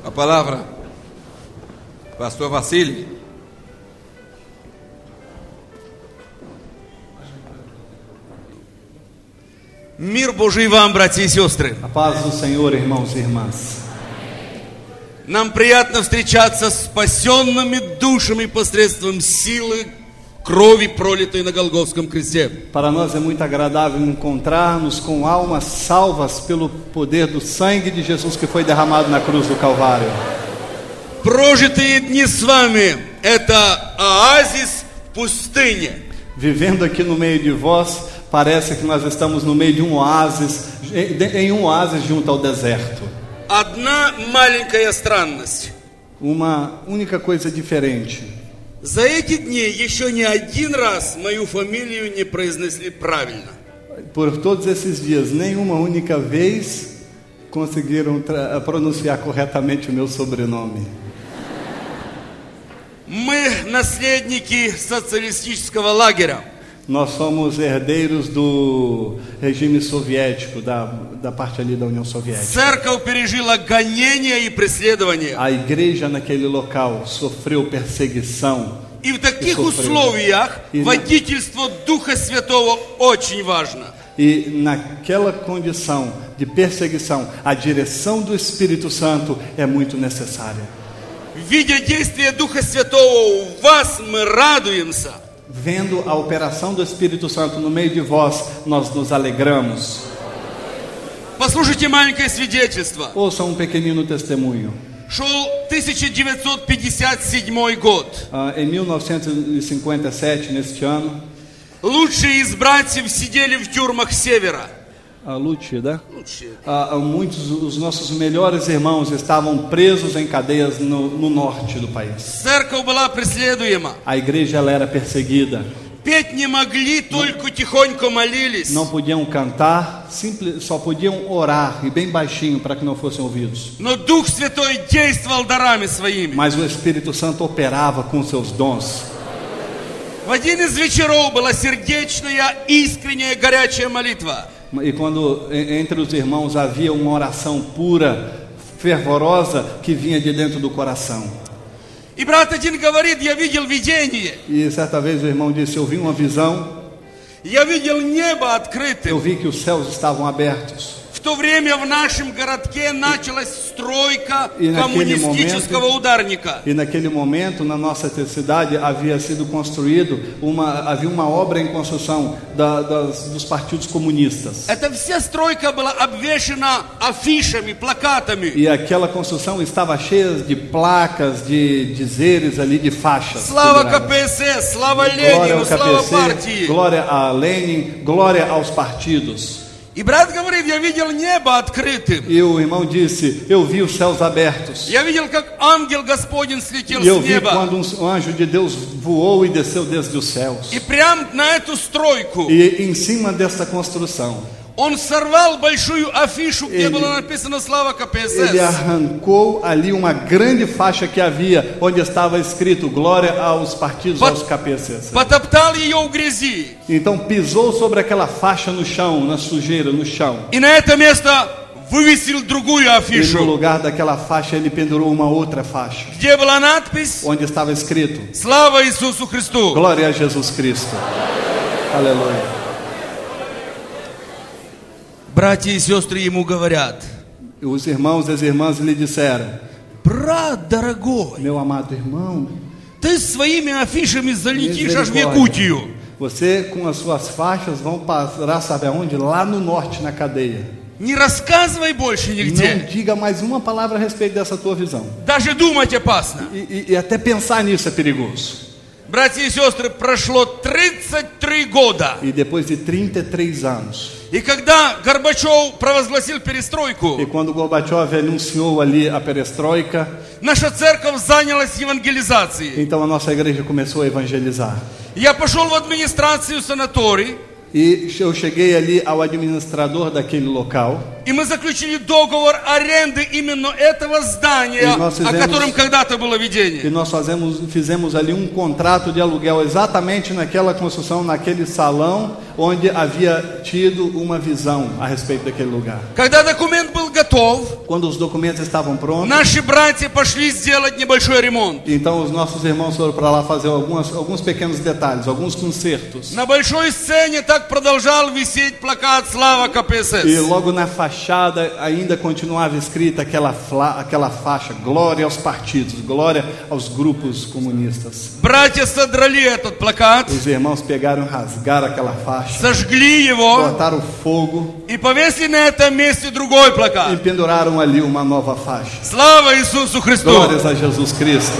A palavra, pastor Василий. Мир Божий вам, братья и сестры. A paz do Senhor, irmãos e irmãs. Нам приятно встречаться с спасенными душами посредством силы крови, пролитой на Голгофском кресте. Para nós é muito agradável encontrar-nos com almas salvas pelo poder do sangue de Jesus que foi derramado na cruz do Calvário. Прожитые дни с вами – это оазис в пустыне. Vivendo aqui no meio de vós, parece que nós estamos no meio de um oásis, em um oásis junto ao deserto. Одна маленькая странность. Uma única coisa diferente. За эти дни еще ни один раз мою фамилию не произнесли правильно. Por todos esses dias, nenhuma única vez conseguiram pronunciar corretamente o meu sobrenome. Мы наследники социалистического лагеря. Nós somos herdeiros do regime soviético, da parte ali da União Soviética. Церковь пережила гонения и преследования. A igreja naquele local sofreu perseguição. И в таких условиях водительство Духа Святого очень важно. E naquela condição de perseguição, a direção do Espírito Santo é muito necessária. Видя действие Духа Святого в вас, мы радуемся. Vendo a operação do Espírito Santo no meio de vós, nós nos alegramos. Послушайте маленькое свидетельство. Ouça um pequenino testemunho. Шел 1957 год. Em 1957, neste ano, Лучшие из братьев сидели в тюрьмах Севера. a Lúcia, né? Muitos dos nossos melhores irmãos estavam presos em cadeias no norte do país. Церковь была преследуема. A igreja ela era perseguida. Петь не могли, только тихонько молились. Não podiam cantar, só podiam orar e bem baixinho para que não fossem ouvidos. Но Дух Святой действовал дарами своими. Mas o Espírito Santo operava com seus dons. В один из вечеров была сердечная, искренняя, горячая молитва. E quando entre os irmãos havia uma oração pura, fervorosa, que vinha de dentro do coração. И брат один говорит: я видел видение. E certa vez o irmão disse: eu vi uma visão. Я видел небо открытым. Eu vi que os céus estavam abertos. В то время в нашем городке началась стройка коммунистического ударника. E naquele momento, na nossa cidade, havia sido construído havia uma obra em construção dos partidos comunistas. Эта вся стройка была обвешана афишами, плакатами. E aquela construção estava cheia de placas, de dizeres ali, de faixas. Слава КПСС, слава Ленину, слава партии. Glória a Lenin, glória aos partidos. И брат говорит: я видел небо открытым. E o irmão disse: eu vi os céus abertos. Я видел, как ангел Господень слетел E eu с vi неба. quando um anjo de Deus voou e desceu desde os céus. И прямо на эту стройку E em cima desta construção, он сорвал большую афишу, где было написано «Слава ele КПСС». arrancou ali uma grande faixa que havia, onde estava escrito glória aos partidos, aos KPSS. Потоптал ее в грязи. Então pisou sobre aquela faixa no chão, na sujeira, no chão. И на это место вывесил другую E no афишу, lugar daquela faixa ele pendurou uma outra faixa, где была надпись onde estava escrito «Слава Иисусу Христу». glória a Jesus Cristo. Aleluia. Братья и сестры ему говорят: Os irmãos e as irmãs lhe disseram: брат дорогой, meu amado irmão, ты своими афишами залетишь аж в Якутию. você com as suas faixas vão parar, sabe aonde? Lá no norte, na cadeia. Не рассказывай больше Não нигде. diga mais uma palavra a respeito dessa tua visão. Даже думать опасно. E até pensar nisso é perigoso. Братья и сестры, прошло 33 года. E depois de 33 anos, И когда Горбачев провозгласил перестройку, e quando Gorbachev anunciou ali a perestroika, наша церковь занялась евангелизацией. então a nossa igreja começou a evangelizar. Я пошел в администрацию санаторий, E eu cheguei ali ao administrador daquele local. и мы заключили договор аренды именно этого здания, о котором когда-то было E видение. nós fizemos ali um contrato de aluguel exatamente naquela construção, naquele salão onde havia tido uma visão a respeito daquele lugar. Когда документ был готов, готов, Quando os documentos estavam prontos, наши братья пошли сделать небольшой ремонт. então os nossos irmãos foram para lá fazer alguns pequenos detalhes, alguns consertos. На большой сцене так продолжал висеть плакат «Слава E КПСС». logo na fachada ainda continuava escrita aquela faixa: glória aos partidos, glória aos grupos comunistas. Братья содрали этот плакат, Os irmãos pegaram e rasgaram aquela faixa, сожгли его botaram fogo и повесили на этом месте другой e плакат. penduraram ali uma nova faixa. Слава Иисусу Христу! Glórias a Jesus Cristo.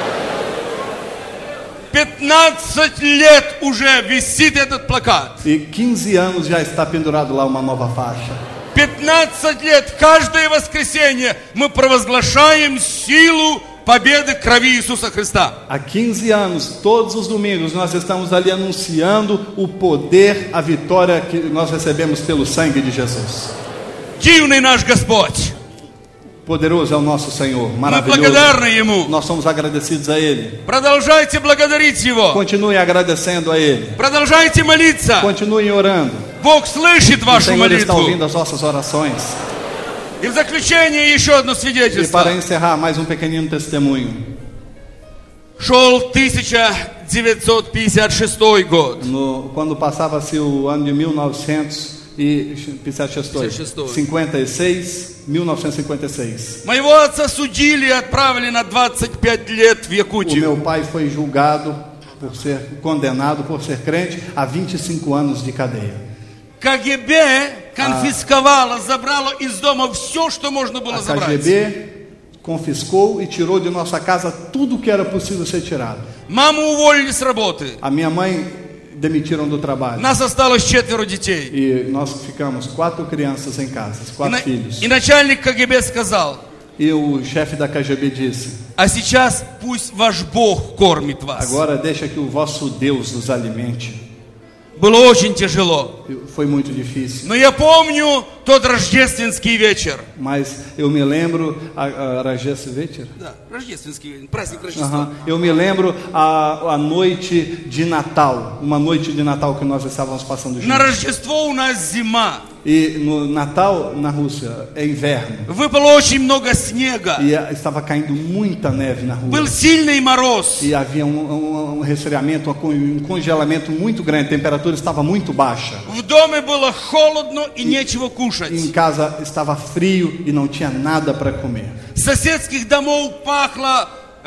15 лет уже висит этот плакат. E 15 anos já está pendurado lá uma nova faixa. 15 лет, каждое воскресенье мы провозглашаем силу победы крови Иисуса Христа. Há 15 anos, todos os domingos, nós estamos ali anunciando o poder, a vitória que nós recebemos pelo sangue de Jesus. Дивный наш Господь. Poderoso é o nosso Senhor, Мы maravilhoso. благодарны Ему. Nós somos agradecidos a Ele. Продолжайте благодарить Его. Continue agradecendo a Ele. Продолжайте молиться. Continue orando. Бог слышит O вашу Senhor está молитву. ouvindo as nossas orações. И в заключение еще одно E para свидетельство. encerrar, mais um pequenino testemunho. Шел 1956 год. Quando passava-se o ano de 1956, Моего отца судили и отправили на 25 лет в o Якутию. meu pai foi julgado por ser condenado por ser crente a 25 anos de cadeia. КГБ конфисковало, забрало из дома все, что можно было A забрать. KGB confiscou e tirou de nossa casa tudo que era possível ser tirado. Маму уволили с работы. A minha mãe demitiram do trabalho. Нас осталось 4 детей. E nós ficamos 4 crianças em casa, 4 filhos. И начальник КГБ сказал: E o chefe da KGB disse: а сейчас пусть ваш Бог кормит вас. agora deixa que o vosso Deus nos alimente. Было очень тяжело. Foi muito difícil. Но я помню тот рождественский вечер. Mas eu me lembro a Rajestvecher? Да, рождественский праздник Рождества. Eu me lembro a noite de Natal, uma noite de Natal que nós estávamos passando На juntos. Рождество у нас зима. E no Natal na Rússia é inverno. Выпало очень много снега. E estava caindo muita neve na rua. Был сильный мороз. E havia um resfriamento, um congelamento muito grande. A temperatura estava muito baixa. В доме было холодно и нечего кушать. Em casa estava frio e não tinha nada para comer. С соседских домов пахло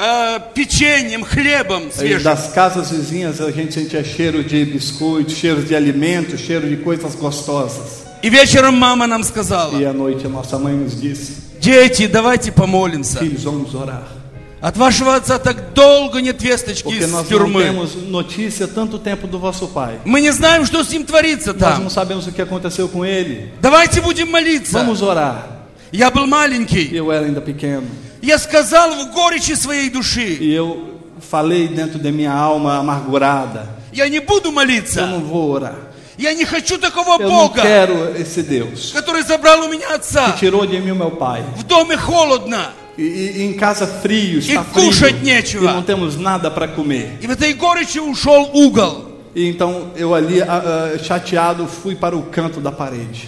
печеньем, хлебом E свежим. das casas vizinhas a gente sentia cheiro de biscoito, cheiro de alimento, cheiro de coisas gostosas. И вечером мама нам сказала: E à noite a nossa mãe nos disse: дети, давайте помолимся. filhos, vamos orar. От вашего отца так долго нет весточки Porque из nós não тюрьмы. temos notícia tanto tempo do vosso pai. Мы не знаем, что с ним творится Nós там. não sabemos o que aconteceu com ele. Давайте будем молиться. Vamos orar. Я был маленький. Eu era ainda pequeno. Я сказал в горечи своей души: E eu falei dentro da minha alma amargurada: я не буду eu молиться. não vou orar. Я не хочу такого Eu não Бога, quero esse Deus который забрал у меня que отца. tirou de mim o meu pai. В доме холодно. E em casa frio, está E frio. кушать E нечего. não temos nada para comer. И в этой горечи ушел угол. E então eu ali, chateado, fui para o canto da parede.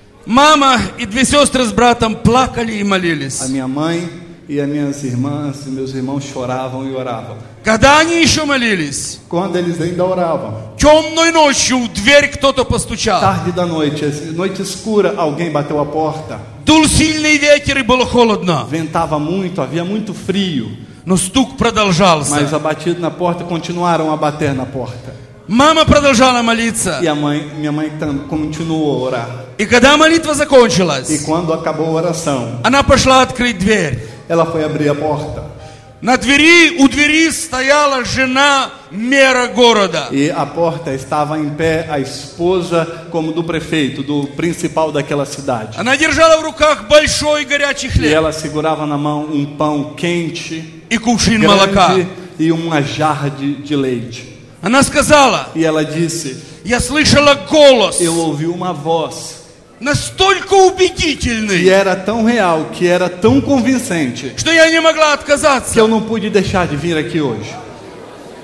Мама и 2 сестры с братом плакали и молились. A minha mãe e as minhas irmãs e meus irmãos choravam e oravam. Когда они еще молились, Quando eles ainda oravam, темной ночью в дверь кто-то постучал. tarde da noite escura, alguém bateu a porta. Дул сильный ветер и было холодно. Ventava muito, havia muito frio. Но стук продолжался. Mas a batida na porta continuaram a bater na porta. Мама продолжала молиться. E minha mãe continuou a orar. И когда молитва закончилась, E quando acabou a oração, она пошла открыть дверь. ela foi abrir a porta. На двери, у двери стояла жена мэра города. E a porta estava em pé a esposa como do prefeito, do principal daquela cidade. Она держала в руках большой горячий E хлеб ela segurava na mão um pão quente, и кувшин молока. grande e uma jarra de leite. Она сказала: E ela disse: я слышала голос, eu ouvi uma voz настолько que убедительный, era tão real, que era tão convincente, что я не могла que отказаться. eu não pude deixar de vir aqui hoje.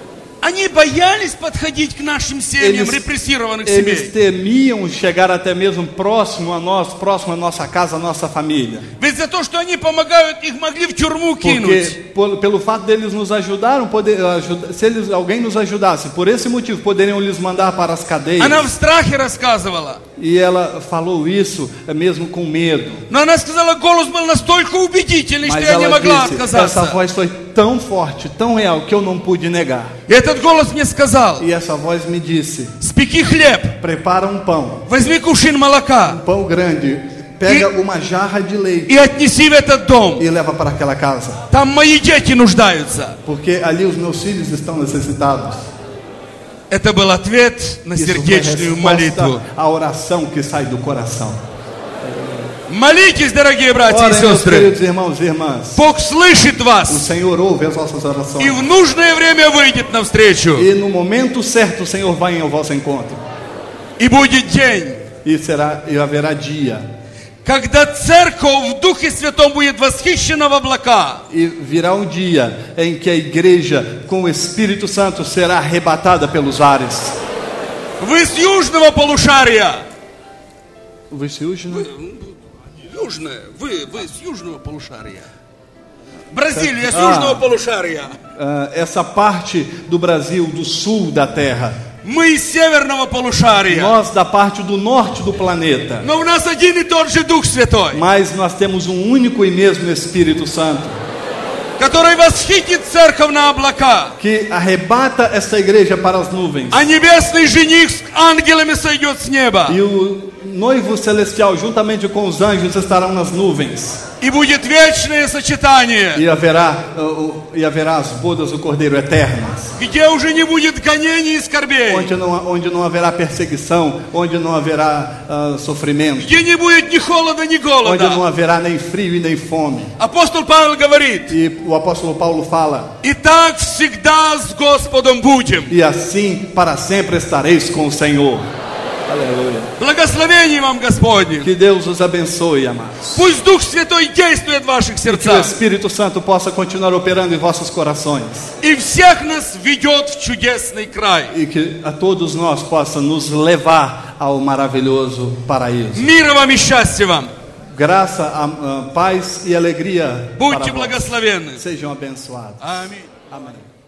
Они боялись подходить к нашим семьям, репрессированных Eles семей. temiam chegar até mesmo próximo a nós, próximo à nossa casa, à nossa família. Ведь за то, что они помогают, их могли в тюрьму кинуть. Porque pelo fato deles nos ajudaram, se alguém nos ajudasse, por esse motivo poderiam lhes mandar para as cadeias. Она в страхе рассказывала. E ela falou isso mesmo com medo. Но она сказала, голос был настолько убедительный, что Mas я не ela могла disse, essa отказаться. voz foi tão forte, tão real, que eu não pude negar. И этот голос мне сказал, E essa voz me disse, спеки хлеб, prepara um pão, возьми кувшин молока pão grande, pega uma jarra de leite и отнеси в этот дом. e leva para aquela casa. Там мои дети нуждаются. Porque ali os meus filhos estão necessitados. Это был ответ на Isso foi сердечную молитву. resposta à oração que sai do coração. Молитесь, дорогие братья и Orem, meus сестры. queridos irmãos e irmãs. Бог слышит O вас Senhor ouve as nossas и orações. в нужное время выйдет навстречу. E no momento certo o Senhor vai ao vosso encontro. И будет день, E haverá dia. когда церковь в Духе Святом будет восхищена в облака. E virá um dia em que a igreja com o Espírito Santo será arrebatada pelos ares. Вы с южного полушария. Южное, вы с южного полушария. Бразилия с южного полушария. Essa parte do Brasil, do sul da terra. Мы из северного полушария. Nós da parte do norte do planeta. Но у нас один и тот же Дух Святой, Mas nós temos um único e mesmo Espírito Santo, который восхитит церковь на облака. que arrebata essa igreja para as nuvens. А небесный жених с ангелами сойдет с неба. E o noivo celestial, juntamente com os anjos, estarão nas nuvens. И будет вечное сочетание, E haverá as bodas do Cordeiro eternas. где уже не будет гонений и скорбей, Onde não haverá perseguição, onde não haverá sofrimento, где не будет ни холода, ни onde não голода. haverá nem frio e nem fome. Апостол Павел говорит, E o apóstolo Paulo fala: и так всегда с Господом будем. e assim para sempre estareis com o Senhor. Aleluia. Благословение вам Господне. Que Deus os abençoe, amados. Пусть Дух Святой действует в ваших Que o сердцах Espírito Santo possa continuar operando em vossos corações. и всех нас ведет в чудесный край. E que a todos nós possa nos levar ao maravilhoso paraíso. Мира вам и счастья вам. Graça, paz e alegria para Будьте vós. благословенны. Sejam abençoados. Аминь. Amém.